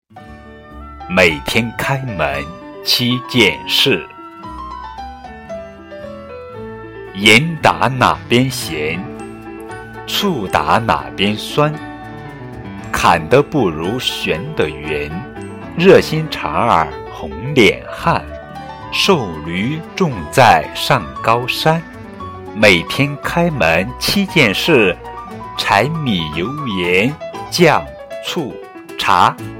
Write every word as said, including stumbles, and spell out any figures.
每天开门七件事，盐打哪边咸，醋打哪边酸，砍得不如旋得圆，热心肠儿红脸汉，瘦驴重在上高山。每天开门七件事，柴米油盐酱醋茶